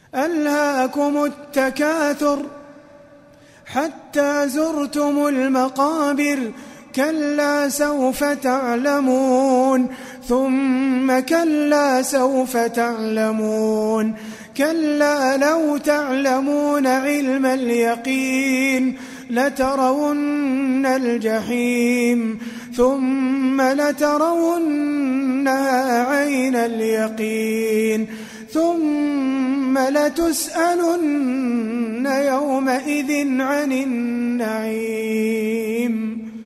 ألهاكم التكاثر حتى زرتم المقابر كلا سوف تعلمون ثم كلا سوف تعلمون كلا لو تعلمون علم اليقين لترون الجحيم ثم لترونها عين اليقين ثم لتسألن يومئذ عن النعيم